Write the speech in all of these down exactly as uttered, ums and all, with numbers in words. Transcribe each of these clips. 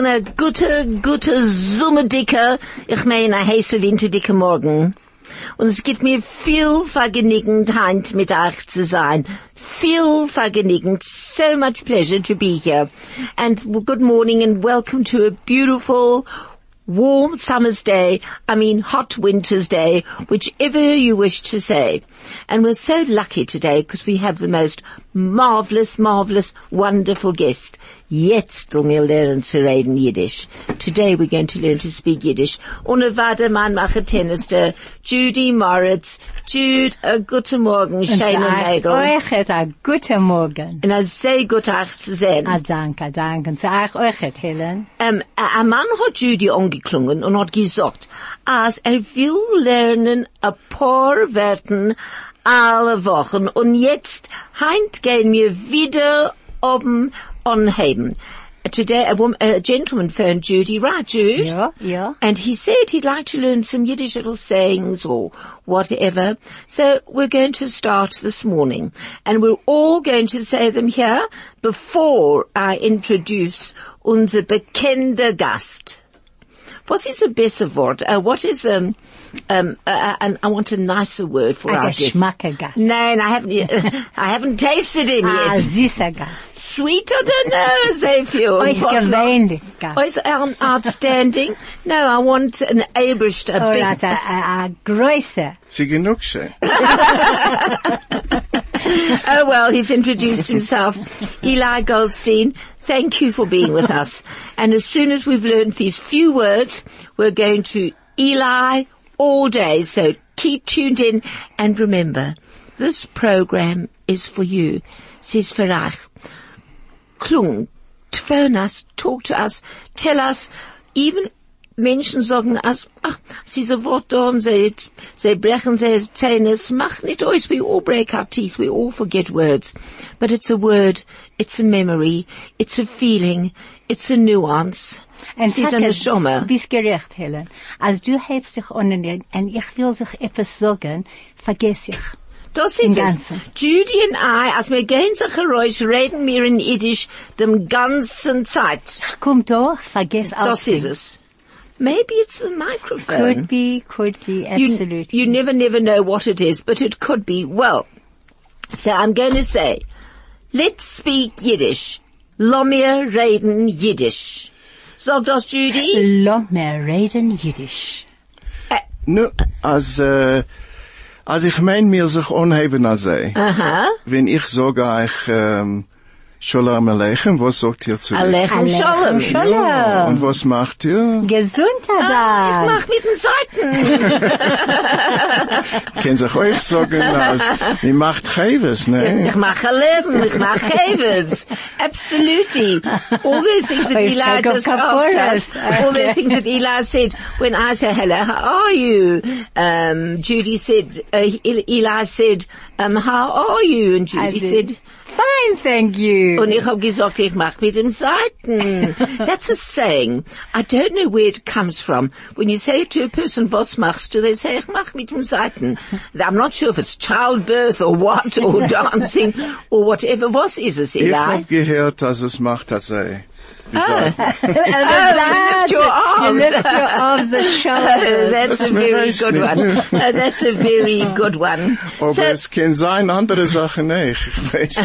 eine gute, gute, summerdicke, ich meine, eine heiße, winterdicke Morgen. Und es gibt mir viel Vergnügen, heint mit euch zu sein. Viel Vergnügen. So much pleasure to be here. And good morning and welcome to a beautiful, warm summer's day, I mean hot winter's day, whichever you wish to say. And we're so lucky today because we have the most marvelous, marvelous, wonderful guest. Jetzt tun wir lernen zu reden Yiddish. Today we're going to learn to speak Yiddish. Und warte, man mache Tennis, der Judy Moritz. Jude, a guten Morgen, schöne Mädel. Euch a guten Morgen. Und a sehr gut euch zu sehen. A danke, danke. Zu euch, euch, Helen. Ähm, ein Mann hat Judy angeklungen und hat gesagt, als er will lernen ein paar Wörter alle Wochen und jetzt heint gehen wir wieder oben anheben. Today a, woman, a gentleman phoned Judy, right Jude? Yeah, yeah. And he said he'd like to learn some Yiddish little sayings or whatever. So we're going to start this morning. And we're all going to say them here before I introduce unser bekannter Gast. What is a better word? Uh, what is, um, um, uh, and I want a nicer word for a our guest. Geschmackergast. No, and I haven't, uh, I haven't tasted him yet. A süßer Gast. Sweet, I don't know, sehr viel. Ausgewöhnlich Gast. Oh, is um, outstanding? No, I want an Abrish, a Or big... a, a, a größer. Sie genug schön. Oh well, he's introduced himself. Eli Goldstein, thank you for being with us. And as soon as we've learned these few words, we're going to Eli all day. So keep tuned in. And remember, this program is for you. Es ist für euch. Klung, phone us, talk to us, tell us, even Menschen sagen, as, ach, sie so Wort da und sie, sie brechen sie Zähne. Es macht nicht aus. We all break our teeth. We all forget words. But it's a word. It's a memory. It's a feeling. It's a nuance. Es ist eine Schomme. Du bist gerecht, Helen. Als du hebst dich an und ich will sich etwas sagen, vergess ich. Das ist es. Judy und I, als wir gehen sich heraus, reden wir in Yiddish dem ganzen Zeit. Ich komm da, vergess alles. Das ist es. Maybe it's the microphone. Could be, could be, absolutely. You, you never, never know what it is, but it could be. Well, so I'm going to say, let's speak Yiddish. Lo mir reden Yiddish. Sag das, Judy? Lo mir reden Yiddish. Äh, Nu, als, äh, als ich mein mir sich anheben als sei, aha. wenn ich sage euch, ähm, Shalom Aleichem, was sagt ihr zu mir? Aleichem Shalom. Ja, und was macht ihr? Gesundheit. Ah, ich mach mit den Seiten. Können sich euch sagen, als, wie macht Chaves, ne? Ich mache Leben, ich mache Chaves. Absolutely. All those things that Eli just asked us, all those things that Eli said, when I said, hello, how are you? Um, Judy said, uh, Eli said, um, how are you? And Judy said, fine, thank you. Und ich hab gesagt, ich mach mit den Seiten. That's a saying. I don't know where it comes from. When you say to a person, was machst du? They say, ich mach mit den Seiten. I'm not sure if it's childbirth or what, or dancing, or whatever. Was ist es, Eli? Ich hab gehört, dass es macht, dass er. Oh, oh lift your arms. You lift your arms, the shoulders. That's a very good one. Uh, that's a very good one. Aber so, es kann sein, andere Sachen nicht. Ich weiß.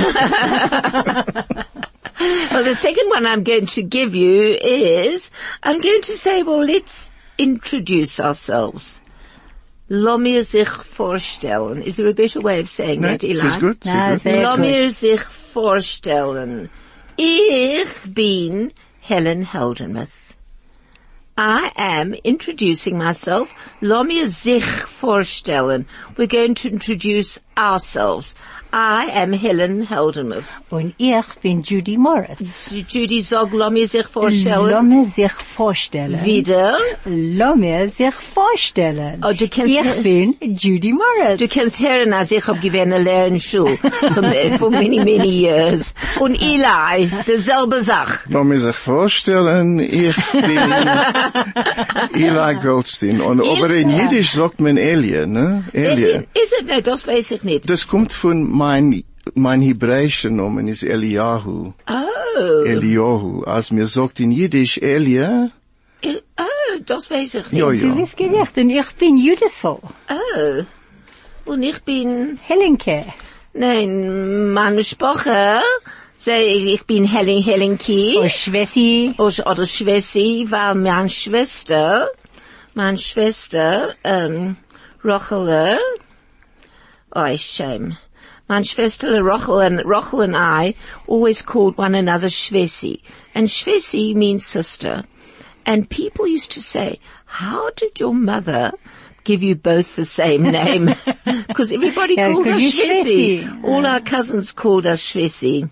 Well, the second one I'm going to give you is, I'm going to say, well, let's introduce ourselves. Lo mir sich vorstellen. Is there a better way of saying Nee, that, Eli? ist gut. Na, Ist gut. sehr Lo gut. mir sich vorstellen. Ich bin Helen Heldenmuth. I am introducing myself. Lo mir sich vorstellen. We're going to introduce ourselves. I am Helen Heldenmuth. Und ich bin Judy Moritz. Judy, sag, lo mir sich vorstellen. Lo mir sich vorstellen. Wieder. Lo mir sich vorstellen. Oh, du kannst, ich bin Judy Moritz. du kannst hören, als ich hab gewähnt eine Lernschule for, for many, many years. Und Eli, derselbe Sach. Lass mich sich vorstellen, ich bin Eli Goldstein. Und, aber in Jiddisch sagt man Elie, ne? Elie. Is it? No, das weiß ich nicht. Das kommt von mein, mein hebräischer Name ist Eliyahu. Oh. Oh. Eliyahu. Als mir sagt in Jiddisch Elia, Eh, Oh, das weiß ich nicht. ja, Du ja. bist gerecht und ich bin Judithel. Oh. Und ich bin, Helenke. nein, meine Sprache, sei, ich bin Helen, Helenki. Oh, Schwessi. Oder, oder Schwessi, weil meine Schwester, meine Schwester, ähm, Rochele, oh, it's shame. Meine Schwester Rochel and, Rochel and I always called one another Schwessi. And Schwessi means sister. And people used to say, how did your mother give you both the same name? Because everybody Yeah, called 'cause us you Schwessi. Schwessi. All our cousins called us Schwessi.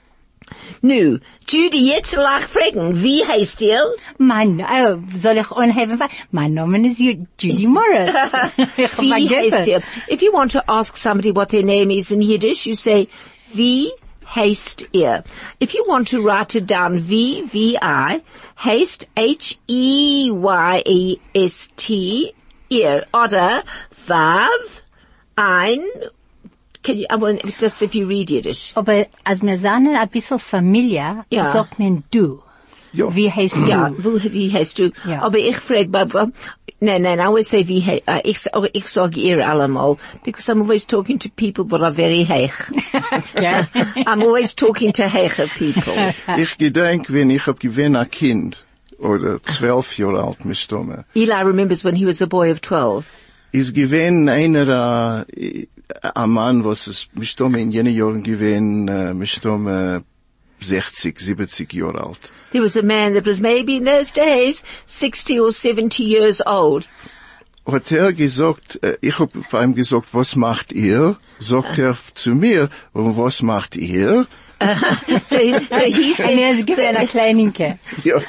Nu, Judy, jetzt lach fragen, wie heißt ihr? Mein, oh, soll ich anheben? Mein Name ist Ju- Judy Morris. Ich hab Wie heißt vergessen. ihr? If you want to ask somebody what their name is in Yiddish, you say, wie heißt ihr? If you want to write it down, V, V I, heißt H E Y E S T, ihr, oder Vav, ein, can you, I want, that's if you read Yiddish. Aber als wir sind ein bisschen Familie, Ja. sagt man du. Ja. Wie heißt du? Ja, wo, wie heißt du? Ja. Aber ich frage, Baba, nein, nein, I always say, wie, he- uh, ich, oh, ich sage ihr allemal, because I'm always talking to people that are very heich. Ja. I'm always talking to heiche people. Ich gedenk, wenn ich hab gewinn ein Kind, oder zwölf Jahre alt, mistomme, Eli remembers when he was a boy of twelve. ist gewinn einer, äh, ein Mann, was es mistomme in jenen Jahren gewinn, äh, mistomme sechzig, siebzig Jahre alt. There was a man that was maybe in those days sixty or seventy years old. Hat er gesagt, äh, ich hab vor ihm gesagt, was macht ihr? Sagt er zu mir, und was macht ihr? So, he- so he Und er said, ist gewesen ein Kleininke. Ja.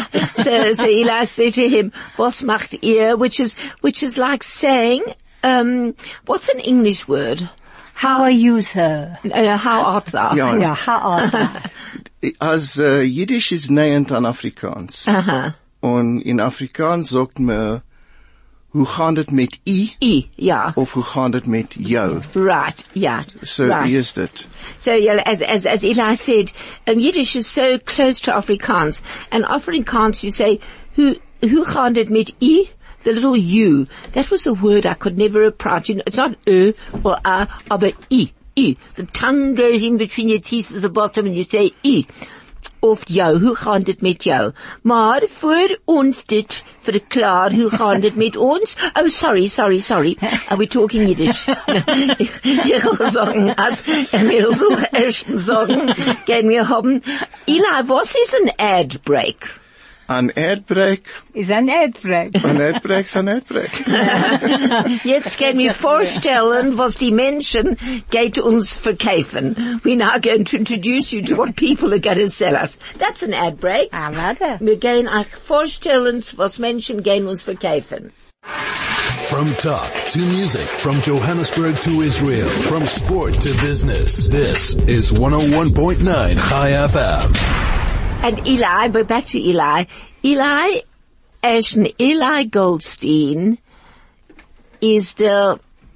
so, so Eli said to him, was macht ihr? Which is, which is like saying, um, what's an English word? How are you, sir? Uh, how art thou? Ja, Ja, how are you? Als äh, Jiddisch ist nähernd an Afrikaans. Uh-huh. Und in Afrikaans sagt man, hoe gaan het met I? I, yeah. Of hoe gaan het met jou? Right, yeah. So, right. wie is dit? So, yeah, as, as, as Eli said, um, Yiddish is so close to Afrikaans. And Afrikaans, you say, who, who gaan het met I? The little U. That was a word I could never pronounce. You know, it's not Ö or A, but I. I. The tongue goes in between your teeth at the bottom and you say I. Of jou, hoe gaan dit met jou? Maar voor ons dit verklaar, hoe gaan dit met ons? Oh, sorry, sorry, sorry. Are we talking Yiddish? ich, ich will sagen, als, ich will so erst sagen, gehen wir haben, Eli, was ist ein ad break? An Erdbrek, Is ein Erdbrek. an Erdbrek ist an Erdbrek. Jetzt können wir vorstellen, was die Menschen geht uns verkaufen. We're now going to introduce you to what people are going to sell us. That's an ad break. Ah, warte. Wir gehen euch vorstellen, was Menschen gehen uns verkaufen. From talk to music, from Johannesburg to Israel, from sport to business. This is one oh one point nine Chai F M. And Eli, but back to Eli. Eli, Ashton, Eli Goldstein is der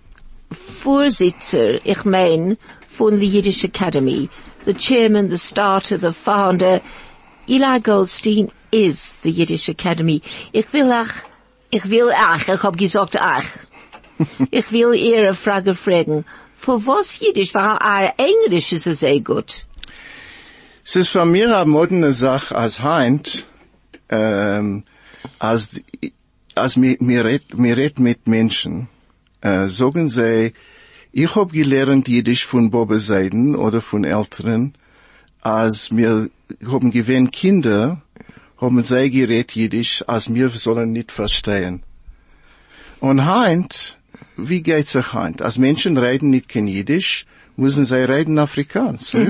Vorsitzer, ich mein, von the Yiddish Academy. The chairman, the starter, the founder. Eli Goldstein is the Yiddish Academy. Ich will ach, ich will ach, ich hab gesagt ach. Ich will ihr eine Frage fragen. Für was Yiddish? Weil our Englisch ist sehr gut. Es ist von mir eine moderne Sache als Heint, ähm, als, als mir, mir red, mir red mit Menschen, äh, sagen sie, ich hab gelernt Jiddisch von Bobbe Seiden oder von Älteren, als mir haben gewähnt Kinder, haben sie geredet Jiddisch, als wir sollen nicht verstehen. Und Heint, wie geht's sich Heint? Als Menschen reden nicht kein Jiddisch, müssen sie reden Afrikaans. Hm?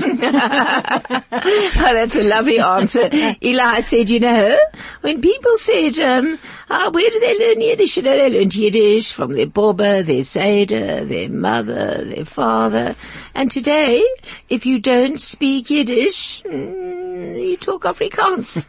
Oh, that's a lovely answer. Eli said, you know, when people said, um, oh, where do they learn Yiddish? You know, they learned Yiddish from their Baba, their Seder, their mother, their father. And today, if you don't speak Yiddish, mm, you talk Afrikaans.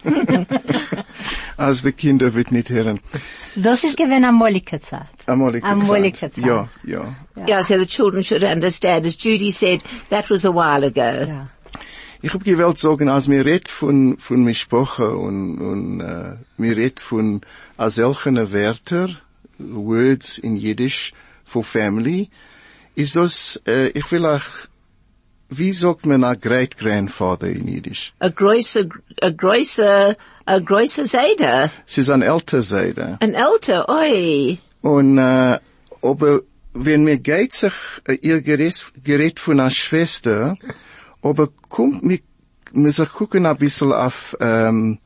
Als die Kinder wird nicht hören. Das ist gewesen amolige Zeit. Amolige Amolige Zeit. Zeit. Ja, ja. Yeah, so the children should understand. As Judy said, that was a while ago. Ja. ich hab gewollt sagen, als mir redt von, von Mishpoche und, und, äh, mir redt von, als solche Wörter, Words in Jiddisch, for family, ist das, äh, ich will auch, wie sagt man a great grandfather in Jiddisch? A größer, a größer, a größer Seide. Es ist ein älter Seide. Ein älter, oi. Und, äh, aber, wenn mir geht sich, äh, ihr gerät, gerät von einer Schwester, aber kommt mir, mir sich gucken ein bisschen auf, ähm,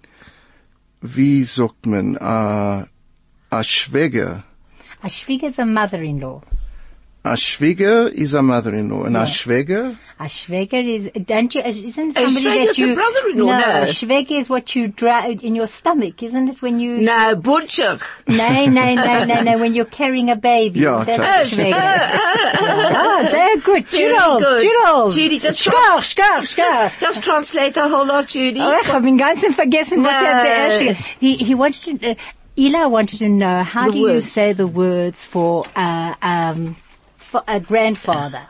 wie sagt man, a, a Schwäger. A Schwieger is a mother-in-law. A Schwäger is a mother-in-law, and Yeah. a Schwäger? A Schwäger is, don't you, isn't A somebody Schwäger's that you... a brother-in-law, no, no. a Schwäger is what you drag in your stomach, isn't it, when you... No, butcher. No, no, no, no, no, when you're carrying a baby. Yeah, That's that's- a Schwäger. Ah, sehr gut. Very Jural, good. Jural. Judy, just Schkach, schkach, schkach. Just, just translate a whole lot, Judy. Oh, ich hab ihn ganz vergessen, was er der erste... He, he wanted to... Uh, Eli wanted to know, how The do you words. say the words for, uh, um, for a grandfather?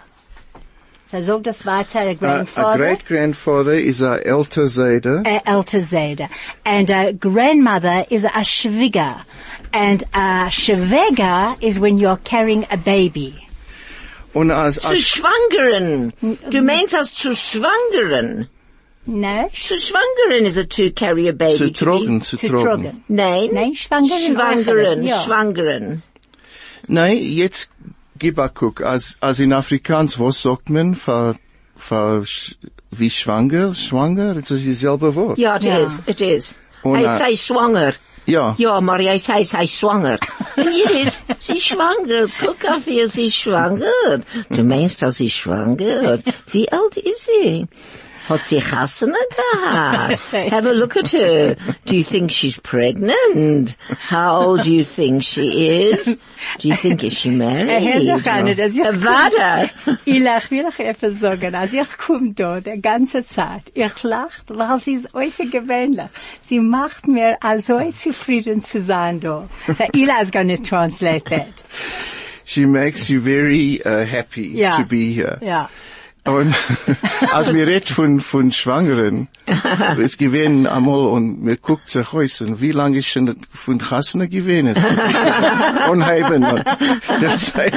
So sag das weiter, a A, grandfather. a great grandfather is a älter Seide. A älter Seide. And a grandmother is a Schwieger. And a Schwäger is when you're carrying a baby. Und als, Zu als, schwangeren. Du meinst als zu schwangeren. No? Zu schwangeren is a to carry a baby. zu to be- trocken, zu Zu trocken. trocken. Nein. Nein, schwangeren. Schwangeren, Ja. schwangeren. Nein, jetzt gib a guck, als, als in Afrikaans, was sagt man, für, für, sch- wie schwanger, schwanger, das ist dieselbe Wort. Ja, it Ja. is, it is. Und, Hij äh, zei schwanger. Ja. Ja, maar hij zei zij schwanger. En hier is, sie ist schwanger. Guck auf ihr, sie ist schwanger. Du meinst, dass sie schwanger? Wie alt ist sie? Hat sie Chassene gehabt? Have a look at her. Do you think she's pregnant? How old do you think she is? Do you think is she married? Er hört sich an, dass ich- Äh, Warte. Ich lach, will ich etwas sagen. Als ich komm da, die ganze Zeit, ich lacht, weil sie ist äußerst gewöhnlich. Sie macht mir also zufrieden zu sein da. So, Eli's gonna translate that. She makes you very uh, happy Ja. to be here. Ja. Und als wir redt von, von Schwangeren, es gewesen einmal und mir guckt sich aus und wie lange ist schon von Chassene gewesen? Und haben und der Zeit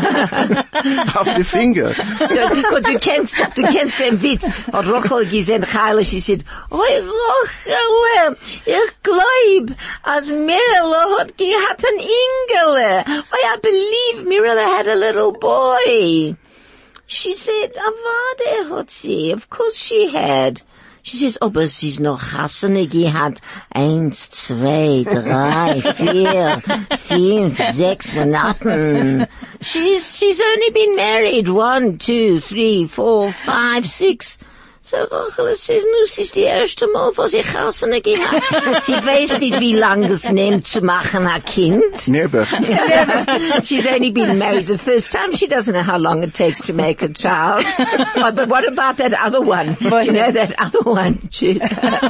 auf die Finger. Ja, und du kennst, du kennst den Witz. Hat Rochel gesehen, Heile, sie sagt, oi, Rochel, ich glaub, als Mirella hat gehabt ein Ingele. Oh, I believe Mirella had a little boy. She said, Avade hat sie. Of course she had. She says, aber sie ist noch Hassene gehabt. Eins, zwei, drei, vier, fünf, sechs Monaten. She's, she's only been married one, two, three, four, five, six. So, Rachel says, nu, sie ist die erste Mal, wo sie Hassene gehabt. Sie weiß nicht, wie lange es nimmt zu machen, ein Kind. Never. She's only been married the first time. She doesn't know how long it takes to make a child. Oh, but what about that other one? Do you know that other one? Jude?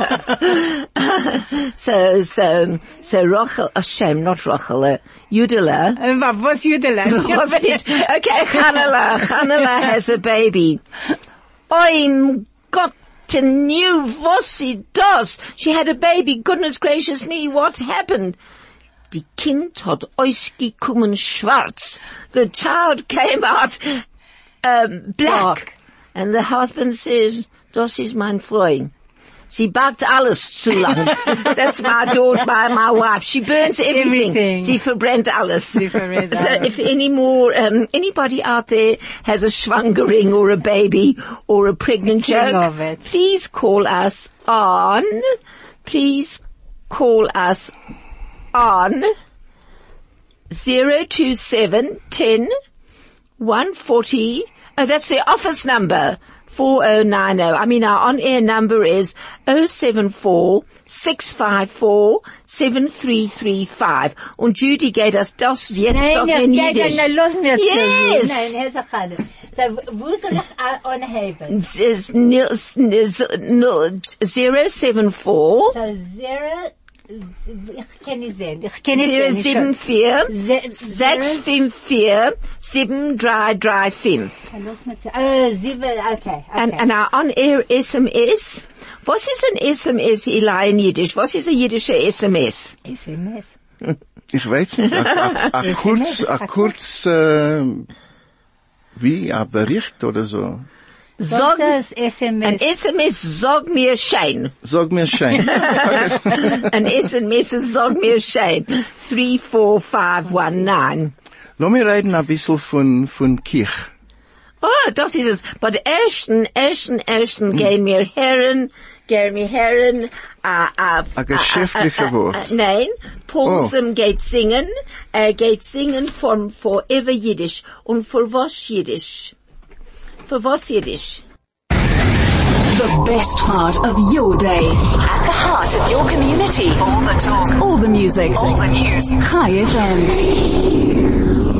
so, so, so Rachel, oh, shame, not Rachel, uh, Yudela. Uh, what's Judeland? Was it? Okay, Chanela. Chanela has a baby. I'm got to knew what she does. She had a baby. Goodness gracious me, what happened? Die Kind hat ausgekommen schwarz. The child came out um, black. Dark. And the husband says, das ist mein Freund. Sie backt alles zu lang. That's my daughter, my, my wife. She burns everything. Everything. Sie verbrennt alles. Sie verbrennt So alles. if any more, um, anybody out there has a schwangering or a baby or a pregnant Think joke, of it. please call us on, please call us on zero two seven ten one forty. Oh, that's the office number. four oh nine oh. I mean, our on-air number is oh seven four six five four seven three three five. Und Judy geht das das jetzt auf in Nein, Jiddisch. nein, lass mir zu. Yes. Nein, Herr Sachane. So, wo soll ich a- anheben? It's, it's nil, nil, nil, zero seven four So, zero, Ich kann nicht sehen. Ich kann nicht zero sehen. sieben vier Se- sechs fünf vier sieben drei drei fünf. Lass mal zu- Oh, sieben, okay, okay. And, and our on-air S M S. Was ist ein S M S, Eli, in Jiddisch? Was ist ein jiddischer S M S? S M S. Ich weiß nicht, a, a, a kurz, a kurz, äh, wie, a Bericht oder so. Sag, Was ist S M ein S? S M S, sag mir schein. Sag mir schein. Ein S M S, sag mir schein. three four five one nine. Lass mir reden ein bisschen von, von Kirch. Oh, das ist es. But ersten, ersten, ersten gehen mir Herren, gehen mir Herren, a, a, A geschäftliche a, a, a, Wort. a, nein, Paulsen geht singen, er geht singen von Forever Yiddish. Und für was Yiddish? Für was Yiddish? The best part of your day. At the heart of your community. All the talk. All the music. All the news. Chai F M.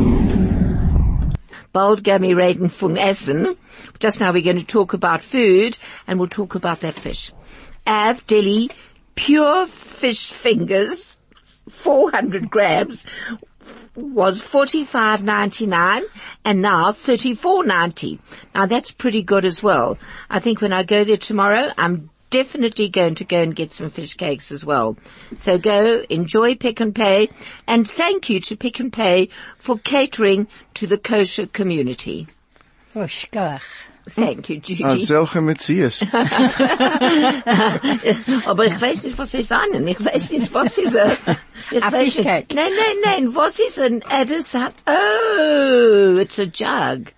Bald gehen wir reden von Essen. Just now we're going to talk about food, and we'll talk about that fish. Av Deli pure fish fingers, four hundred grams, was forty-five ninety-nine, and now thirty-four ninety. Now that's pretty good as well. I think when I go there tomorrow, I'm definitely going to go and get some fish cakes as well. So go, enjoy Pick and Pay, and thank you to Pick and Pay for catering to the kosher community. Oh, schkach. Thank you, Judy. Als solche Metzies. Aber ich weiß nicht, was sie sagen. Ich weiß nicht, was ist er. Ich A weiß fish nicht. cake. Nein, nein, nein. Was ist ein Addis? Oh, it's a jug.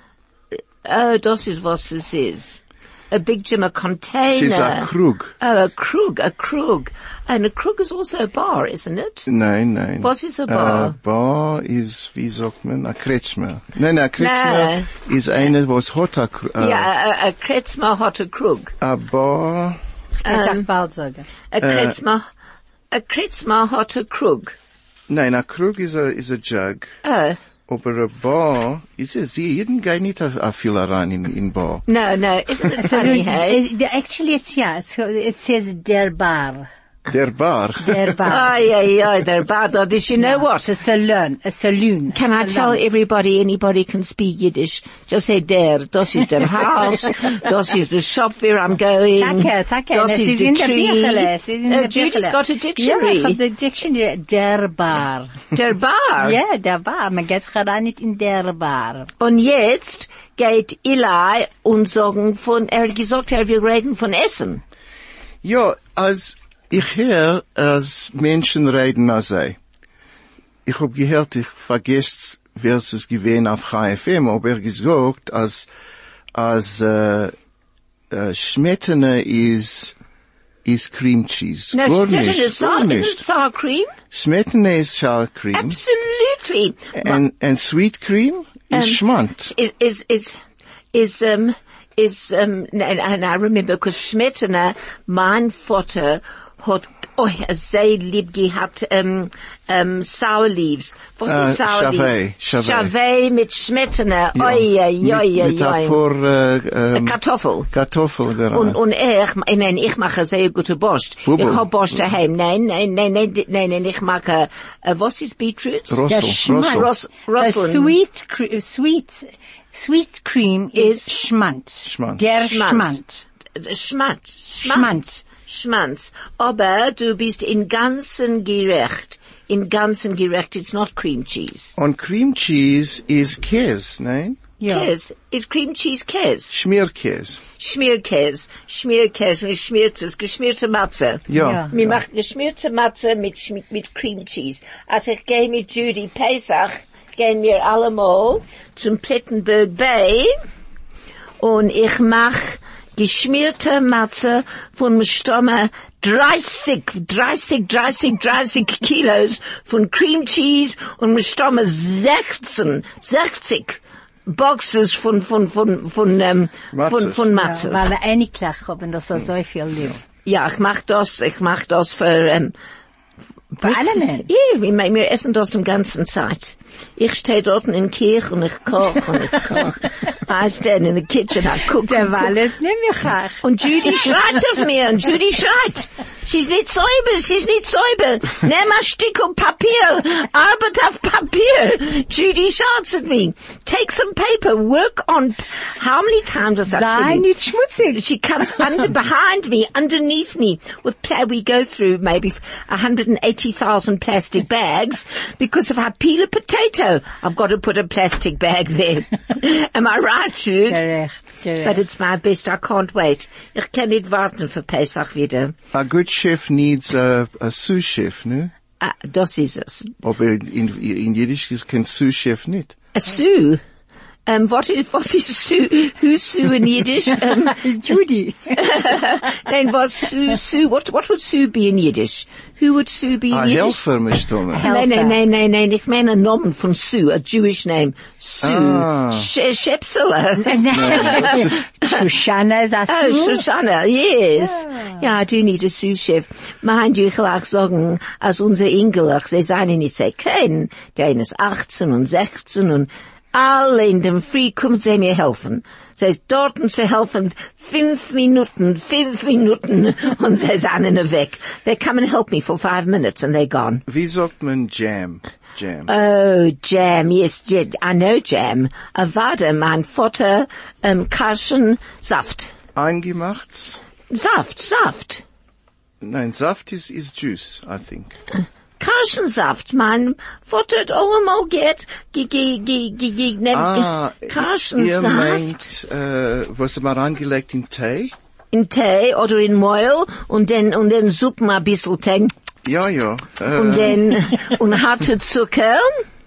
Oh, das ist was es ist. A big Jim, a container. Es ist ein Krug. Oh, a krug, a krug. And a krug is also a bar, isn't it? Nein, nein. Was ist a bar? A bar ist, wie sagt man, a Kretschmer. Nein, a Kretschmer ist eine, was hat a Krug. Ja, a, a kretzma hat a krug. A bar, Ich kann es bald sagen. A kretzma, a kretzma hat a krug. nein, a Krug ist a, ist a Jug. Oh. Aber a bar, ist es, sie jeden gehen nicht a, a viel rein in, in bar. No, no, isn't it So, funny, hey? uh, actually, it's, yeah, so it says der bar. Der Bar. Der bar. Ay, ay, ay, they're bad. Though. Did you know what? It's a saloon. A saloon. Can I tell everybody, anybody can speak Yiddish? Just say der, das ist der Haus, das ist the shop where I'm going, Danke, danke. das Es ist ist the in der tree. Bücherle. Es ist in Uh, der Judy's Bücherle. got a Ja, dictionary. ich hab the dictionary. Der bar. Der Bar. Ja, der bar. Man geht rein nicht in der bar. Und jetzt geht Eli und sagen von, er hat gesagt, er will reden von Essen. Ja, als ich höre, als Menschen reden als sei. Ich hab gehört, ich vergesst, wer es gewesen auf Chai F M, aber er gesagt, als, als, äh, äh, Schmettene ist, ist Cream Cheese. No, Gar she said nicht, it is gar sour, isn't it nicht. sour cream? Schmettene ist Sour Cream. Absolutely. And, and Sweet Cream ist Um, Schmand. is is is is um is um and, and I remember because Schmetterner, mein Vater hat oh sehr lieb gehabt um um sour leaves. Was Äh, ist sour Chavet, leaves? Chavet. Chavet mit Schmetterner. Ja, Oi oi mit, oi mit ein oi. paar, äh, ähm, Kartoffel. Kartoffel daran. Und, und ich, nein, ich mache sehr gute Borscht. Bubel. Ich hab Borscht daheim. Nein, nein, nein, nein, nein, nein, ich mache, äh, was ist Beetroot? Rossel, Der Schmand. Rossel. Ross, Rosseln. So sweet, cre- sweet, sweet cream is Schmand. Schmand. Der Schmand. Schmand. Schmatz. Schmand. Schmanz. Aber du bist in ganzen gerecht. In ganzen gerecht. It's not cream cheese. Und Cream Cheese ist Käse, nein? Ja. Käse. Is cream cheese Käse? Schmierkäse. Schmierkäse. Schmierkäse. Und schmiertes, geschmierte Matze. Ja. Ja. Wir machen geschmierte Matze mit, mit, mit Cream Cheese. Als ich gehe mit Judy Pesach, gehen wir allemal zum Plettenberg Bay und ich mach geschmierte Matze von Stomme dreißig, dreißig, dreißig, dreißig Kilos von Cream Cheese und Stomme sechzehn, sechzig Boxes von, von, von, von, ähm, von, Matzes. von Ja, Matzes. weil er einig haben, dass er so viel lieb. Ja, ich mach das, ich mach das für, ähm, Für alle Menschen. Ja, wir, wir essen das die ganze Zeit. Ich stehe dort in der Kirche und ich koche und ich koche. I stand in the kitchen, I cook. Der and cook. Wallet, nimm mich auch. Und Judy schreit auf mir und Judy schreit. sie ist nicht säuber, sie ist nicht säuber. Nimm ein Stück Papier, arbeit auf Papier. Judy shouts at me. Take some paper, work on, how many times does that tell Sei you? nicht schmutzig. She comes under, behind me, underneath me, with pla- we go through maybe one hundred eighty thousand plastic bags because if I peel a potato, I've got to put a plastic bag there. Am I right, Jude? Gerecht, gerecht. But it's my best. I can't wait. Ich kann nicht warten für Pesach wieder. A good chef needs a, a sous chef, ne? Ah, das ist es. Aber in, in Jiddisch ist kein sous chef nicht. A Sue. Um, what is, was is Sue? Who's Sue in Yiddish? Um, Judy. then was Sue, Sue, what, what would Sue be in Yiddish? Who would Sue be in A Yiddish? helfer, Mister Nein, nein, nein, nein, nein, ich meine einen Namen von Sue, a Jewish name. Sue. Ah. Sh- Shepsela. Shoshana is a Oh, Sue. Shoshana, yes. Ja, I do need a sous chef. Mind you, ich will auch sagen, als unser Engelach, sie seien nicht sehr klein. Der eine ist achtzehn und sechzehn und alle in dem Früh kommen sie mir helfen. Sie ist dort und sie helfen fünf Minuten, fünf Minuten und sie sind weg. They come and help me for five minutes and they're gone. Wie sagt man Jam? Jam. Oh, jam, yes, j- I know jam. Avada, mein Vater, um, Karschen, Saft. Eingemacht? Saft, Saft. Nein, Saft is, is juice, I think. Karschensaft, mein Vater hat allemal geht, ge, ge, ge, ge, ge, ne, Ah, ihr Karschensaft meint, äh, was man reingelegt in Tee? in Tee oder in Mehl und dann, und dann Suppen ein bisschen Tee Ja, ja. Äh, und dann, und harte Zucker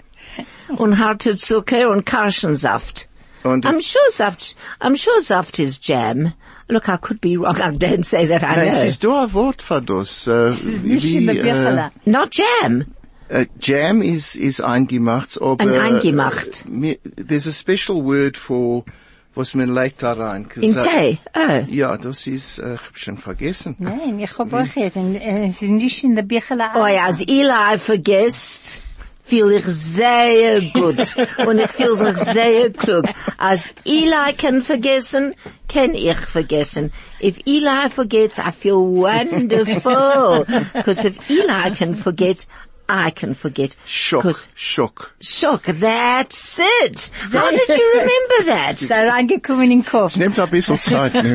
und harte Zucker und Karschensaft. und, I'm sure Saft, I'm sure Saft is jam. Look, I could be wrong. I don't say that I nein, es know. ist da ein Wort für das. Äh, Nicht in der Bücherle. Not jam. äh, Jam is, is eingemacht, aber... Ein eingemacht. Äh, mir- there's a special word for, was man legt da rein. In Tee. Oh. Ja, das ist, äh, ich hab schon vergessen. Nein, ich hab euch jetzt, und, äh, es ist nicht in der Bücherle. Oh ja, als Eli vergisst, fühl ich sehr gut. Und ich fühl sich sehr klug. Als Eli kann vergessen, kann ich vergessen. If Eli forgets, I feel wonderful. Because if Eli can forget, I can forget. Schock, 'Cause- Schock. Shock, that's it. How did you remember that? Da reingekommen in den Kopf. Es nimmt ein bisschen Zeit, ne?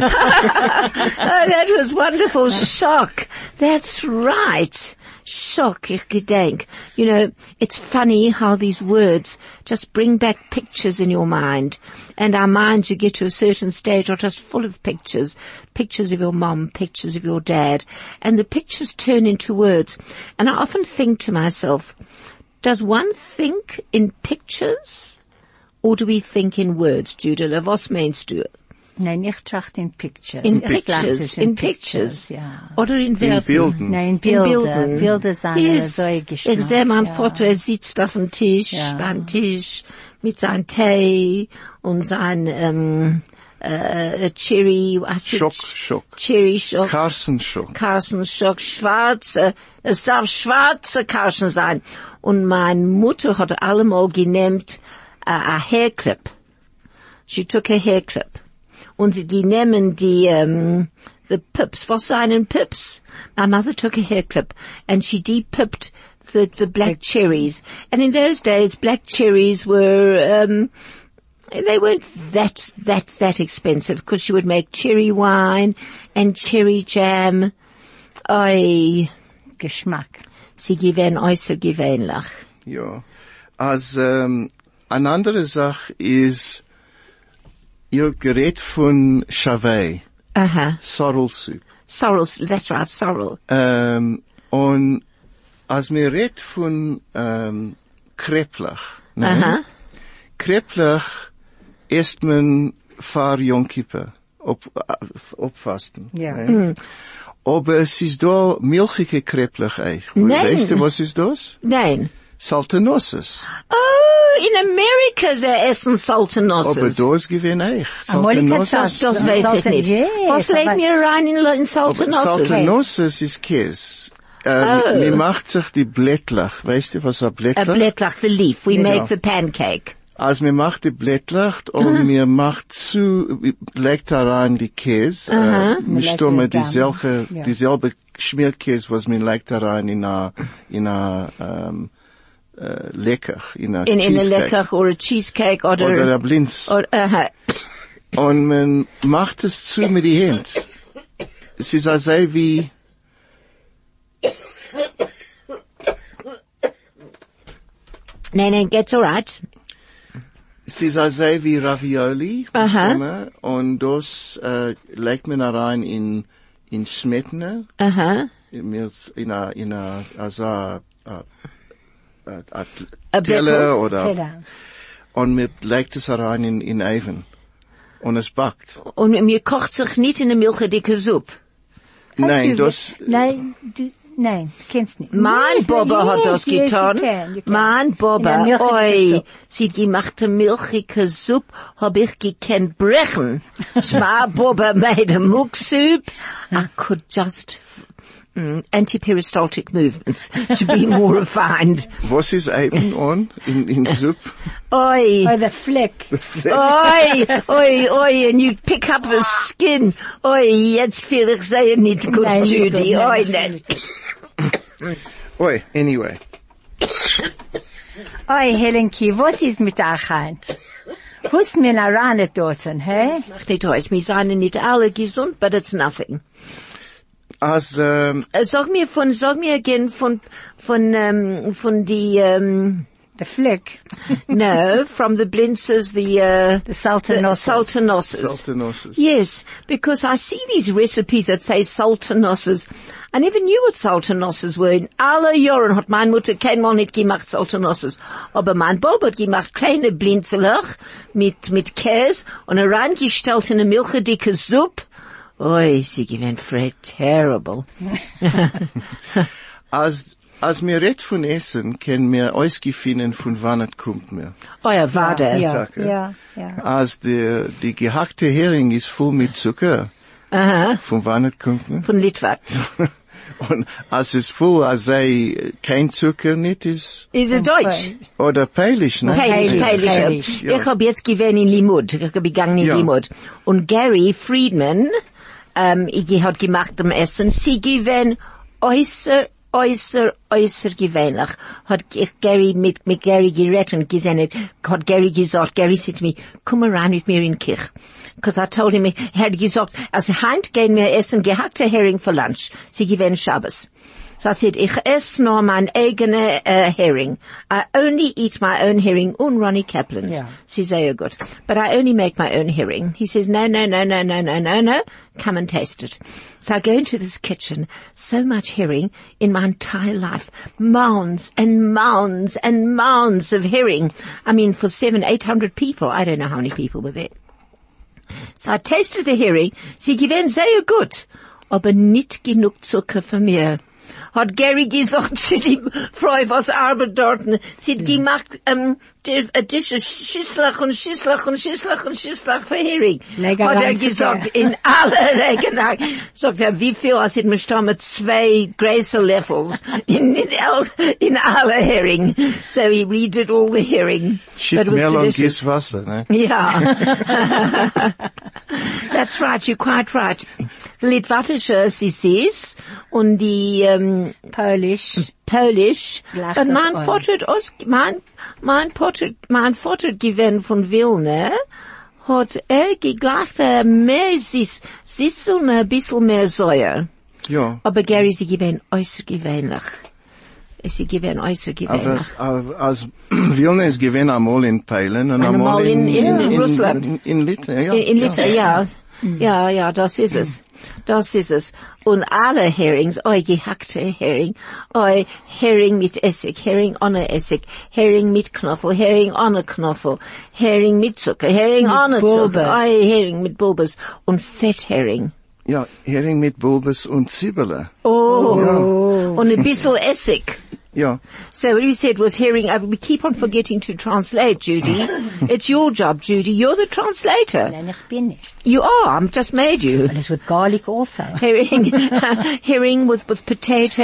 Oh, that was wonderful. Shock. That's right. Shock, ich gedenk. You know, it's funny how these words just bring back pictures in your mind. And our minds, you get to a certain stage, are just full of pictures. Pictures of your mom, pictures of your dad. And the pictures turn into words. And I often think to myself, does one think in pictures? Or do we think in words, Judah? Was meinst du? Nein, ich trachte in Pictures. In Ich trachte pictures, es in pictures. ja. Oder in In Werten. Bilden. Nein, In Bilder. Bilden. Bilder sind Yes. so Geschmack. Ich sehe meinen ja. Vater, er sitzt auf dem Tisch, Ja. beim Tisch, mit seinem Tee und sein, ähm, äh, Cherry, was ist Schock, es? Schock. Cherry Schock. Carson Schock. Carson Schock, schwarze, es darf schwarze Carson sein. Und meine Mutter hat allemal genehmt, äh, a hairclip. She took a hairclip. Und sie, die nehmen die, um, the pips. Was seien pips? My mother took a hairclip and she de-pipped the, the black cherries. And in those days, black cherries were, um, they weren't that, that, that expensive because she would make cherry wine and cherry jam. Oi, Geschmack. sie gewähren äußerst gewöhnlich. Ja. Als, ähm, eine andere Sache ist, ihr gerät von Chavet, Aha. Sorrel Soup. Sorrel, that's right, sorrel. Ähm, und als mir redt von, ähm, Kreplach, ne? Aha. Kreplach isst man vor Yom Kippur, ob, obfasten. Ja. Ne? Aber es ist da milchige Kreplach eigentlich. Nein. Weißt du, was ist das? Nein. Saltanosses. Oh, in Amerika sie essen Saltanosses. Aber das gewinne ich. Amerika Saltanosses. sagt- Das weiß ich nicht. Yes, Was legen aber- wir rein in, in Aber Saltanosses? Saltanosses ist Käse. Äh, Oh. Mir macht sich die Blättlach. Weißt du, was ein A Blättlach? blättlach, the leaf. We Ja. make the pancake. als mir macht die Blättlacht und mir macht zu, legt da rein die Käse, äh, mir stumme dieselbe, ja. dieselbe Schmierkäse, was mir legt da rein in a, in a, ähm, äh, Lecker, in a In, in a Cheesecake. Lecker oder Cheesecake oder, Oder a Blinz. oder, aha. Und man macht es zu mit die Hand. Es ist also wie, Nein, nein, geht's alright. es ist also wie Ravioli. Aha. Und das, äh, legt man da rein in, in Smetana. Aha. Mir in a, in a, also, a, a, a, A a Teller Blättel. oder, Teller. und mir legt es da rein in, in Oven. Und es backt. Und mir kocht sich nicht in eine milchedicke Suppe. Nein, du, das, Nein, du, nein, kennst nicht. Mein Yes, Baba hat yes, das yes, getan. you can, you can. Mein In Baba, der milchige oi, Suppe. sie gemachte milchige Suppe hab ich gekannt brechen. My Baba made a milk soup. I could just, mm, anti-peristaltic movements to be more refined. was ist eben on in, in Soup? Oi. Oh, the flick. Oi, oi, oi, and you pick up the skin. Oi, jetzt fühl ich sehr nicht gut, Nein, nicht gut, Judy. nein, Oi, das nicht. Oi, anyway. Oi, Helenki, was ist mit euch Hand? Hust mir na ran dort, hä? Macht nicht aus, wir seien nicht alle gesund, but it's nothing. Als, ähm, Äh, Sag mir von, sag mir again von, von, ähm, von die, ähm, The flick. no, from the blintzers, the, uh, The sultanosses. sultanosses. Sultanosses. Yes, because I see these recipes that say sultanosses. I never knew what sultanosses were. In alle Jahren hat meine Mutter keinmal nicht gemacht sultanosses. Aber mein Bob hat gemacht kleine Blinzelach mit, mit Käse und reingestellt in eine milchedicke Suppe. Oi, sie gewinnt Fred terrible. als, als mir red von Essen, können wir ausgefinden, von wann es kommt mir. Euer Vater. Ja, Danke. ja, ja. Als die, die gehackte Hering ist voll mit Zucker, Aha, von wann es kommt mir. von Litwak. Und als es voll, als sei kein Zucker nicht ist, Is it Deutsch? oder Peilisch, ne? Peilisch, Peilisch, Peilisch. Peilisch, ja. Ich hab jetzt gewähnt in Limud. Ich hab gegangen in Ja. Limud. Und Gary Friedman, ähm, ich hat gemacht am Essen. Sie gewähnt äußer, äußer, äußer gewähnlich. Hat ich Gary mit, mit Gary geredet und gesehen, hat Gary gesagt, Gary said to me, komm mal rein mit mir in die Kirche. Because I told him, er hat gesagt, also heint gehen wir essen gehackte Hering für Lunch. Sie gewähnt Shabbos. So I said, ich esse nur mein eigener uh, herring. I only eat my own herring und Ronnie Kaplan's. Yeah. She says, oh good. But I only make my own herring. He says, no, no, no, no, no, no, no, no. Come and taste it. So I go into this kitchen. So much herring in my entire life. Mounds and mounds and mounds of herring. I mean, for seven, eight hundred people. I don't know how many people were there. So I tasted the herring. Sie gewinnt sehr gut. Aber nicht genug Zucker für mir. Hat Gary gesagt zu die Frau, was arbeitet dort. Sie hat gemacht, ähm, die, äh, Tische, Schisslach und Schisslach und Schisslach und Schisslach für Hering. Legereien Hat er Zucker. gesagt, in alle Legereien. Sagt er, wie viel, als hätten wir schon mit zwei große Löffels in, in, all- in alle Hering. So he redid all the herring. Shit, But it was Mehl und delicious. Gießwasser, ne? Yeah. That's right, you're quite right. The Litwatische Sissis und die ähm, Polish. Polish. Lacht Und das mein an. Vater hat aus, mein, mein Vater, mein Vater gewesen von Wilna, hat er geglacht, äh, mehr Sis, Sis und ein bisschen mehr Säure. Ja. Aber Gary, sie gewesen äußergewöhnlich. Sie gewesen Aber äußergewöhnlich. als, als Wilna ist gewesen einmal in Peilen und Einmal einmal in, in- in- in in, Russland. in, in Litauen, ja. In, in Liter, ja. Ja, ja, das ist es. Das ist es. Und alle Herings, oi, gehackte Hering, oi, Hering mit Essig, Hering ohne Essig, Hering mit Knoffel, Hering ohne Knoffel, Hering mit Zucker, Hering Mit ohne Bulbes. Zucker, oi, Hering mit Bulbes und Fetthering. Ja, Hering mit Bulbes und Zwiebeln. Oh, und ein bisschen Essig. Ja. So what we said was herring. Uh, we keep on forgetting to translate, Judy. It's your job, Judy. You're the translator. Nein, ich bin nicht. You are. I've just made you. And it's with garlic also. Herring, herring with, with potatoes,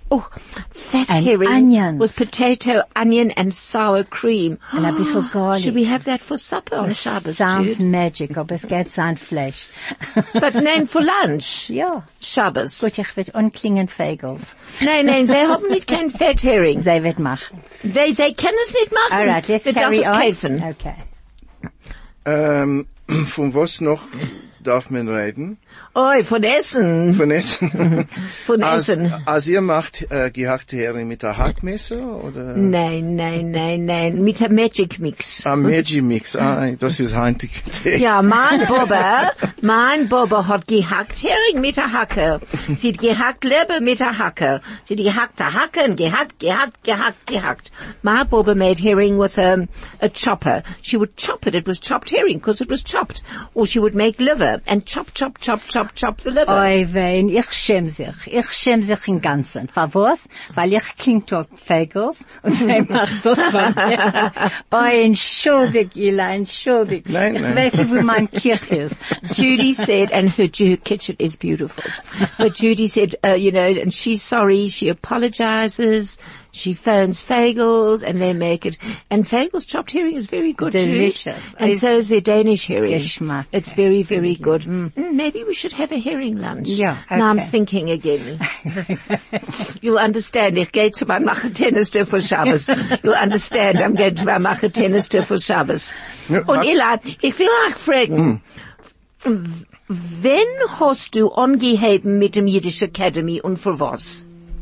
Oh, fat And herring onions. with potato, onion, and sour cream. And a bisschen garlic. Should we have that for supper on Shabbos, Sounds Jude? magic, aber es geht sein Fleisch. But nein, for lunch. Ja. Shabbos. Gut, ich will unklingen Fagels. Nein, nein, sie haben nicht kein Fetthering. Sie wird machen. Sie, sie können es nicht machen. Alright, let's Sie carry darf es on. kaufen. Okay. Ähm, von was noch darf man reden? Oi, von Essen. Von Essen? Von als, Essen. als ihr macht äh, gehackte Hering mit der Hackmesser oder? Nein, nein, nein, nein, mit einem Magic Mix. Ah, Magic Mix, ah, das ist heutige Tee. Ja, mein Bobber, mein Bobber hat gehackt Hering mit der Hacke. Sie hat gehackt Leber mit der Hacke. Sie hat gehackt der Hacke und gehackt, gehackt, gehackt, gehackt. My Bobber made herring with a, a chopper. She would chop it, it was chopped herring because it was chopped. Or she would make liver and chop, chop, chop, chop, chop the liver. Oi, wein, ich schäm sich. Ich schäm sich im Ganzen. Für was? Weil ich klingt auf Fagels und sie macht das von mir. Oi, entschuldig, Ila, entschuldig. Nein, ich nein. weiß nicht, wo mein Kirch ist. Judy said, and her, her kitchen is beautiful. But Judy said, uh, you know, and she's sorry, she apologizes, she phones Fagels, and they make it. And Fagels chopped herring is very good, Jude. Delicious. And It's- so is their Danish herring. Geschmack. It's very, very good. Mm, maybe we should have a herring lunch. Yeah, Now I'm okay. thinking again. You'll understand. Ich gehe zu meinem Machetennister für Shabbos. You'll understand. I'm going to my Machetennister für Shabbos. Ja, Und hat- Eli, ich will euch fragen, wenn hast du angeheben mit dem Yiddish Academy und für was?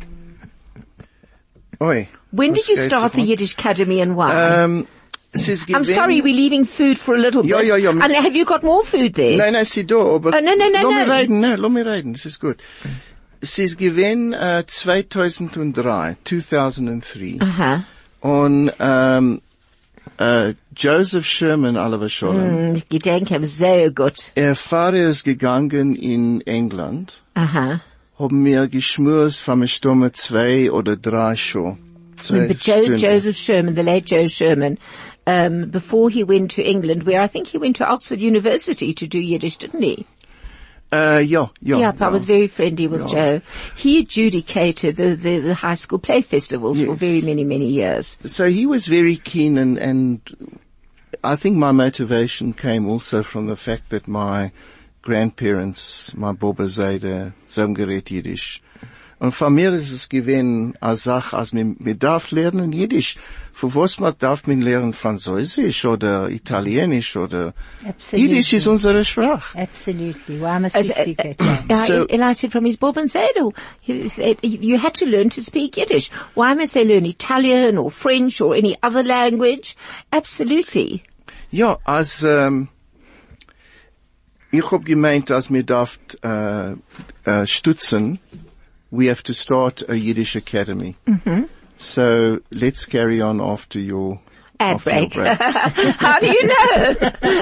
Oi. When was did you geht start so the Yiddish Academy and why? Ähm, es ist I'm gewesen- sorry, we're leaving food for a little Ja, bit. ja, ja. And have you got more food there? Nein, nein, sie da, aber... Oh, nein, nein, nein, Lass nein. mich reden, nein, lass mich reden, es ist gut. Es ist gewesen, äh, zweitausenddrei, zweitausenddrei. Aha. Und, ähm, äh, Joseph Sherman, Oliver Scholem, Hm, ich denke, sehr gut. er Vater ist gegangen in England, Aha. haben mir geschmust von mir Stimme zwei oder drei schon. Zwei But jo- Stunden. Joseph Sherman, the late Joe Sherman, um, before he went to England, where I think he went to Oxford University to do Yiddish, didn't he? Äh, ja, ja. Yep, I was very friendly with Joe. He adjudicated the, the, the high school play festivals for Yes. very many, many years. So he was very keen, and, and I think my motivation came also from the fact that my grandparents, my Boba Zayde, haben geredet Jiddisch. Und von mir ist es gewesen, als Sache, als man, man darf lernen Jiddisch. Für was man darf man lernen Französisch oder Italienisch oder Absolutely. Jiddisch ist unsere Sprache. Absolutely. Why must As, we uh, speak it? uh, Yeah. So- Eli said from his Bob and Zedel, you, you had to learn to speak Yiddish. Why must they learn Italian or French or any other language? Absolutely. Ja, als ähm, ich hab gemeint, als mir darf äh, äh, stützen, we have to start a Yiddish academy. Mm-hmm. So let's carry on after your Ad after your break. How do you know?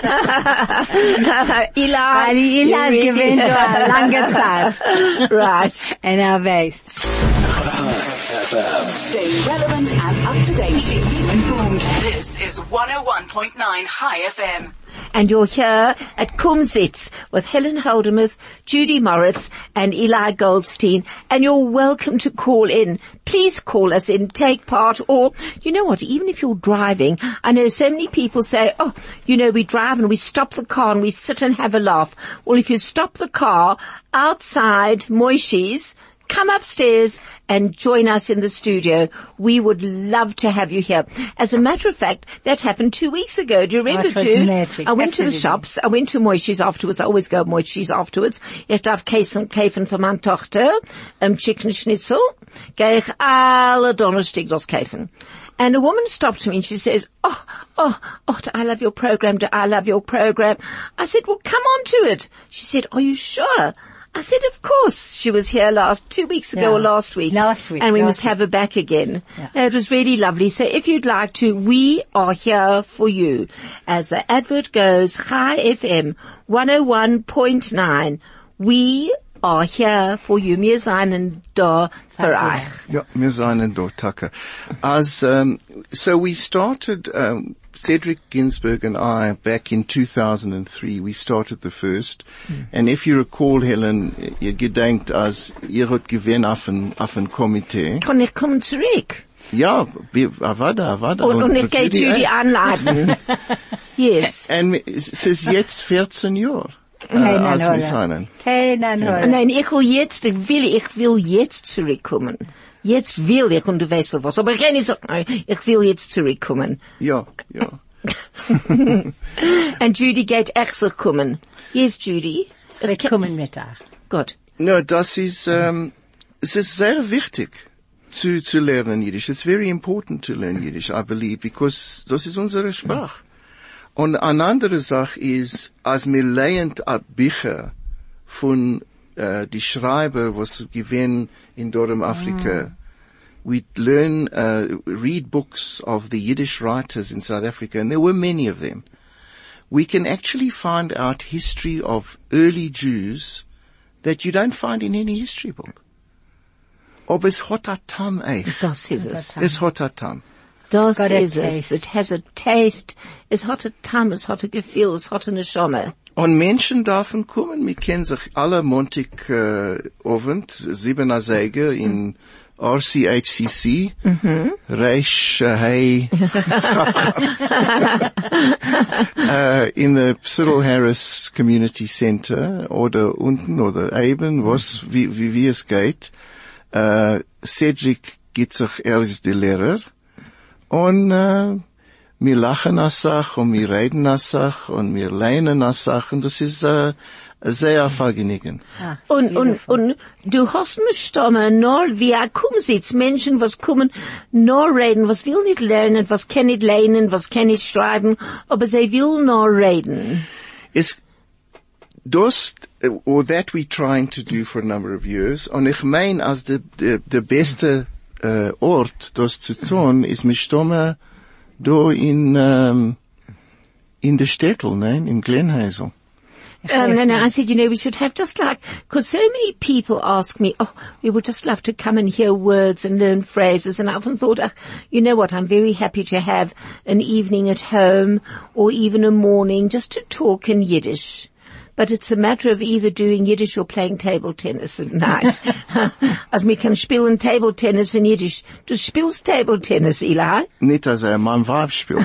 Eli, Weil die Ila you really- gewinnt nur eine lange Zeit. Right. And er weiß. Stay relevant and up to date. Keep you informed. This is one oh one point nine High F M. And you're here at Kumsitz with Helen Holdermuth, Judy Moritz and Eli Goldstein, and you're welcome to call in. Please call us in, take part, or, you know what, even if you're driving, I know so many people say, oh, you know, we drive and we stop the car and we sit and have a laugh. Well, if you stop the car outside Moishi's, come upstairs and join us in the studio. We would love to have you here. As a matter of fact, that happened two weeks ago. Do you remember, Oh, it was Jude? magic. I went to the Absolutely. shops. I went to Moishi's afterwards. I always go Moishi's afterwards. Ich darf Käse kaufen für meine Tochter, um, Chicken Schnitzel. Gehe ich alle Donnerstag das kaufen. And a woman stopped me and she says, oh, oh, oh, do I love your program? Do I love your program? I said, well, come on to it. She said, are you sure? I said, of course. She was here last, two weeks ago Yeah. or last week. Last week, And we last must have her back again. Yeah. No, it was really lovely. So if you'd like to, we are here for you. As the advert goes, High F M one oh one point nine. We are here for you. Wir seien da für euch. Ja, wir seien da, Tucker. As, um, so we started, um, Cedric Ginsberg and I, back in two thousand three, we started the first. Mm. And if you recall, Helen, ihr gedenkt, als ihr hat gewinn auf ein, auf ein Komitee. Kann ich kommen zurück? Ja, avada, avada. Und, und ich gehe Judy anladen. Yes. Und es ist jetzt vierzehn Jahre. Nein, als nein, wir sein. Nein, nein, nein, ich will jetzt, ich will, ich will jetzt zurückkommen. Jetzt will ich, und du weißt für was, aber ich kann nicht sagen, nein, ich will jetzt zurückkommen. Ja, ja. Und Judy geht echt so kommen. Yes, Judy. Wir kommen mit euch. Gut. No, das ist, ähm, es ist sehr wichtig zu, zu lernen Jiddisch. It's very important to learn Yiddish, I believe, because das ist unsere Sprache. Und eine andere Sache ist, als wir lernen ab Bücher von äh, die Schreiber, was gewinnen in Dorem Afrika, mm. we learn, uh, read books of the Yiddish writers in South Africa, and there were many of them. We can actually find out history of early Jews that you don't find in any history book. Aber es hat a tam eich. Das ist es. Es hat a tam. Das ist es. It has a taste. Es hat a tam, es hat a Gefühl, es hat eine Neshama. Und Menschen dürfen kommen. Wir kennen sich alle Montag äh, Abend, sieben Säge in R C H C C, mhm. Reish, äh, hey, äh, in the Cyril Harris Community Center oder unten oder eben, was, wie, wie, wie es geht. Äh, Cedric gibt sich, er ist der Lehrer. Und äh, wir lachen als Sach und wir reden als Sach und wir lernen als Sach und das ist äh, sehr vergnügend. Ah, und, und, und du hast mich stammen, nur wie er kommen sitzt, Menschen, was kommen, nur reden, was will nicht lernen, was kann nicht lernen, was kann nicht schreiben, aber sie will nur reden. Es, das, or that we're trying to do for a number of years, und ich meine, als der, der, der beste Uh, Ort, das zu tun, ist mit Stomme da in, um, in der Städtel, nein, in Glenhazel. Um, and I said, you know, we should have just like, because so many people ask me, oh, we would just love to come and hear words and learn phrases. And I often thought, oh, you know what, I'm very happy to have an evening at home or even a morning just to talk in Yiddish. But it's a matter of either doing Yiddish or playing table tennis at night. Als wir kann spielen table tennis in Yiddish. Du spielst table tennis, Eli? Nicht, als er mein Weib spielt.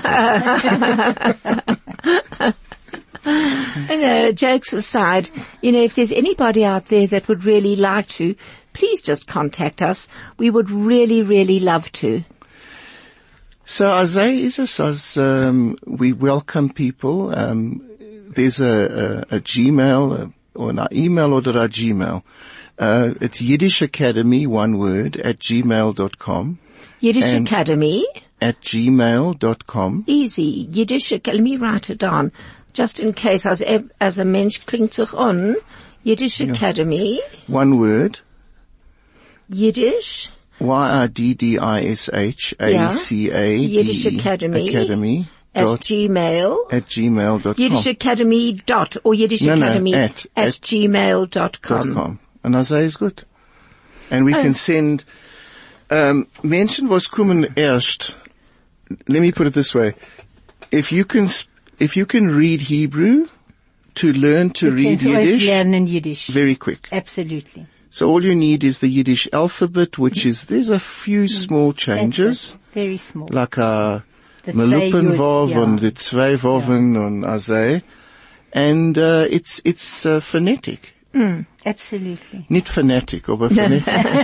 No, jokes aside, you know, if there's anybody out there that would really like to, please just contact us. We would really, really love to. So, as is es, as um, we welcome people, um, there's a, a, a Gmail, a, or an email or a Gmail. Uh, it's Yiddish Academy, one word, at gmail dot com. Yiddish Academy? At gmail dot com. Easy. Yiddish Academy, let me write it down. Just in case, as a, as a Mensch klingt sich an. Yiddish yeah. Academy. One word. Yiddish. Y I D D I S H A C A D E. Yiddish Academy. Academy. At Gmail. At gmail dot com. Yiddish Academy dot, or Yiddish no, Academy no, at, at, at gmail dot com. com. And I say it's good. And we oh. can send, um, Menschen, was kommen erst. Let me put it this way. If you can, if you can read Hebrew, to learn to you read can Yiddish. Learn Yiddish. Very quick. Absolutely. So all you need is the Yiddish alphabet, which is, there's a few small changes. Very small. Like a Melupenvov yeah. and the zwei Woven yeah. and Azay. And, uh, it's, it's, uh, phonetic. Mm, absolutely. Nicht phonetic, aber phonetic.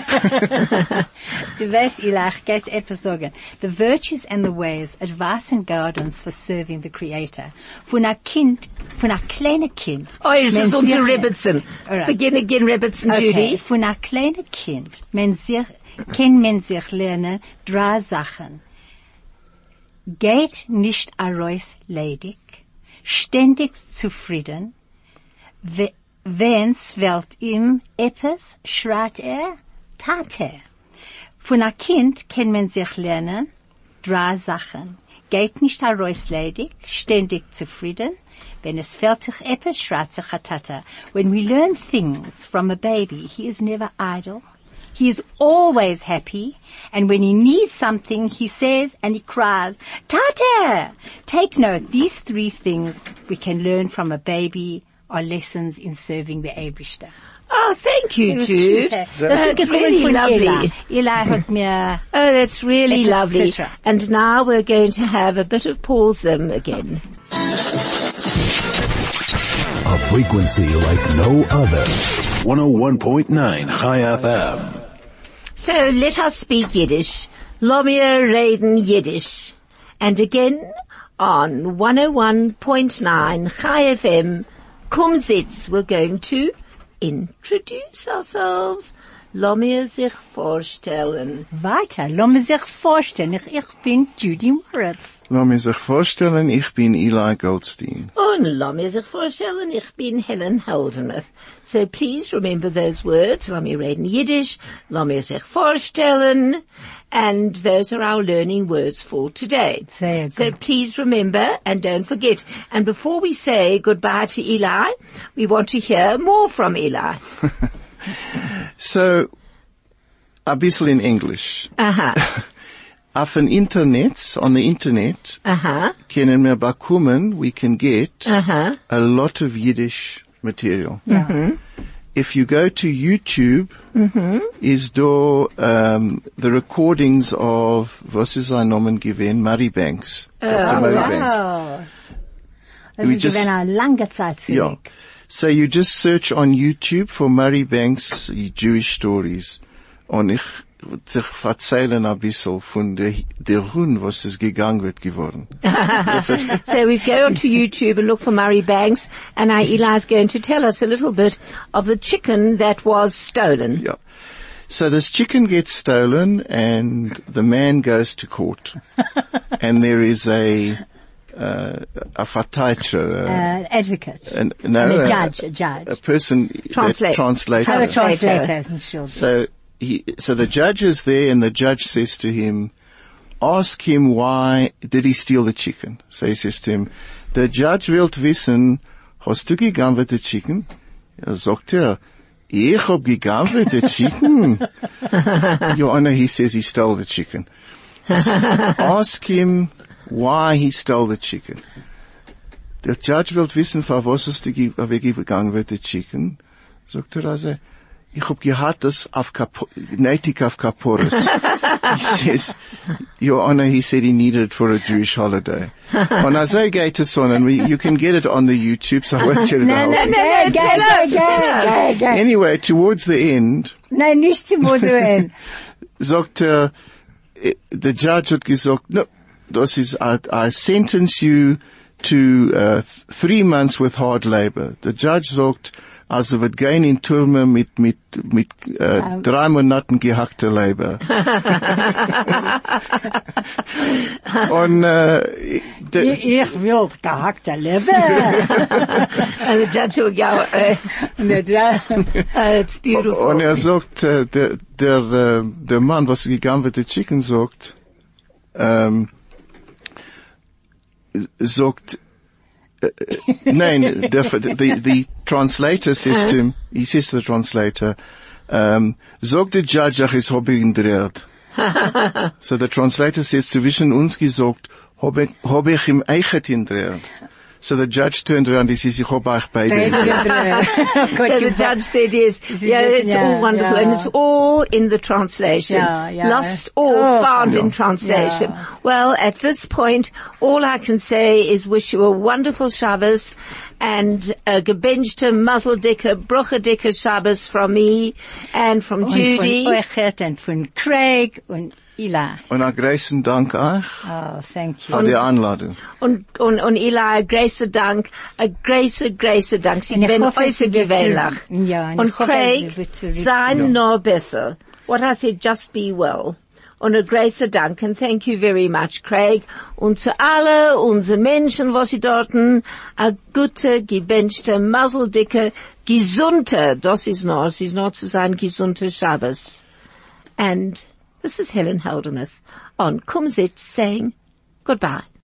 Du weißt, Eli, ich geht's etwas sagen. The virtues and the ways, advice and guidance for serving the Creator. Von a Kind, von a kleine Kind. Oh, es ist unser Rebbitzen. Right. Begin again, Rebbitzen, okay. Judy. Von a kleine Kind, man sich, kann man sich lernen, drei Sachen. Geht nicht araus ledig, ständig zufrieden, wenn's welt ihm etwas, schreit er, tat er. Von a Kind kann man sich lernen, drei Sachen. Geht nicht araus ledig, ständig zufrieden, wenn es fällt sich etwas, schreit sich a tata. When we learn things from a baby, he is never idle, He is always happy, and when he needs something, he says and he cries, Tata! Take note, these three things we can learn from a baby are lessons in serving the Eibishter. Oh, thank you, It was Jude. cute, eh? That's Das ist really gekommen von lovely. Eli. Eli hat mir, Oh, that's really Etwas lovely. sicher. And now we're going to have a bit of Paul Zim again. A frequency like no other. one oh one point nine Chai F M. So let us speak Yiddish. Lomir reden Yiddish. And again on one oh one point nine Chai F M, Kumsitz, we're going to introduce ourselves. Lomir sich vorstellen. weiter, lass mir sich vorstellen, ich, ich bin Judy Moritz. Lass mich sich vorstellen, ich bin Eli Goldstein. Und lass mir sich vorstellen, ich bin Helen Holdemuth. So please remember those words. Lass mir reden Yiddish. Lass mir sich vorstellen. And those are our learning words for today. Sehr So gut. please remember and don't forget. And before we say goodbye to Eli, we want to hear more from Eli. So, a bisschen in English. Aha. Auf dem Internet, on the Internet, Aha. können wir bekommen, we can get Aha. a lot of Yiddish material. If you go to YouTube, is do um, the recordings of, was ist sein Namen gewesen? Murray Banks. Doctor Murray Banks. Wow. Das We ist just- gewesen eine lange Zeit Yeah. zurück. So you just search on YouTube for Murray Banks Jewish Stories. Und ich würde sich erzählen ein bisschen von der, der Hund, was es gegangen wird geworden. So we go onto YouTube and look for Murray Banks, and our Eli's going to tell us a little bit of the chicken that was stolen. Yeah. So this chicken gets stolen and the man goes to court. And there is a, uh, a Verteidiger, Uh, advocate. uh, an, no, And a uh, judge, a judge. a person, Translate. that translator. Oh, a translator. translator, Entschuldigung. So he, so the judge is there and the judge says to him, ask him why did he steal the chicken? So he says to him, the judge wilt wissen, hast du gegangen mit the chicken? Er sagt er, ich hab gegangen mit the chicken. Your Honor, he says he stole the chicken. Ask him why he stole the chicken. Der Judge wilt wissen, für was hast du ge- weggegangen mit the chicken? Sagt er also, ich hab gehad das auf Kapo, nötig auf Kaporis. He says, Your Honor, he said he needed it for a Jewish holiday. On Isaiah Gators on, and we, you can get it on the YouTube, so I won't tell you the No, whole no, thing. no, no, go, tell go, us, go, tell us. go, go. Anyway, towards the end, Nein, nicht zum Moduen. sagt er, eh, the judge hat gesagt, no, das ist, I, I sentence you to uh, th- three months with hard labor. Der Judge sagt, also wird gehen in Türme mit, mit, mit äh, drei Monaten gehackter Labor. Und äh, de, Ich will gehackte Leber. And the judge will go, uh, uh, it's beautiful. und er sagt, äh, der, der, äh, der Mann, was gegangen wird, der Chicken sagt, ähm, sagt, uh, nein, the, the, the translator says to him, he says to the translator, um, sagt der Judge, ach, es hab ich ihn dreht. So the translator says, zwischen uns gesagt, hab ich, hab ich ihm eichet ihn dreht. So the judge turned around, he says, ich hab euch beide. So the judge said yes. Yeah, it's yeah, all wonderful. yeah. And it's all in the translation. Yeah, yeah. Lost or Oh, found yeah. in translation. Yeah. Well, at this point, all I can say is wish you a wonderful Shabbos and a gebenchte, muzzledicke, bruchedicke Shabbos from me and from Judy. Und von euch und von Craig und Eli. Und ein großen Dank euch Oh, thank you. für die Einladung. Und, und, und Eli, großer Dank, a großer, großer Dank. Sie Und ich werden hoffe, äußerst sie wird gewöhnlich. zurück. Ja, und Und ich hoffe, Craig, sie wird zurück. sei noch besser. What I said, just be well. Und a großer Dank. And thank you very much, Craig. Und zu alle unsere Menschen, was sie dorten, a gute, gebenchte, muzzledicke, gesunde, das ist noch, es ist noch zu sein, gesunde Shabbos. And this is Helen Holdemuth on Kumsitz saying goodbye.